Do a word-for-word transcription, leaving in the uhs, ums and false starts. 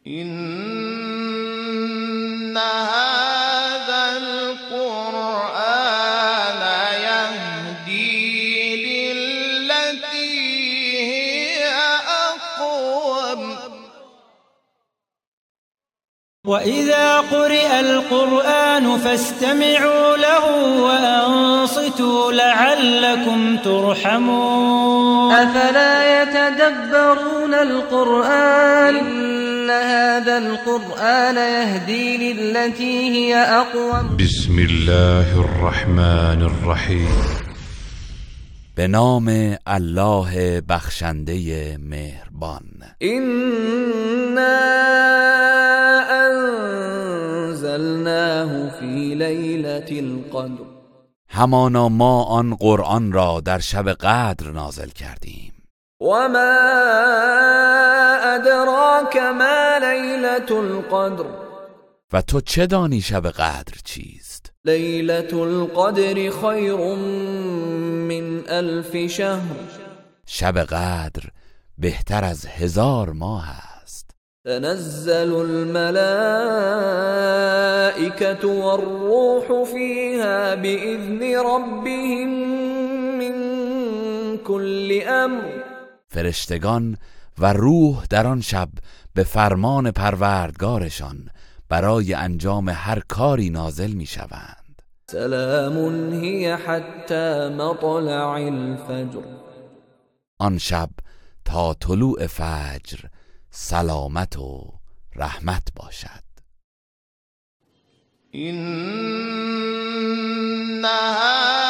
إن هذا القرآن يهدي للتي هي أقوم وإذا قرئ القرآن فاستمعوا له وأنصتوا لعلكم ترحمون أفلا يتدبرون القرآن إن هذا القرآن يهدي للتي هي أقوم بسم الله الرحمن الرحیم. به نام الله بخشنده مهربان. إنا أنزلناه في ليلة القدر همانا ما آن قرآن را در شب قدر نازل کردیم. وما أدراك ما ليلة القدر و تو چه دانی شب قدر چیست؟ ليلة القدر خير من ألف شهر شب قدر بهتر از هزار ماه است. تنزل الملائكة والروح فيها بإذن ربهم من كل أمر فرشتگان و روح در آن شب به فرمان پروردگارشان برای انجام هر کاری نازل می شوند. سلام هی حتی مطلع الفجر آن شب تا طلوع فجر سلامت و رحمت باشد. إن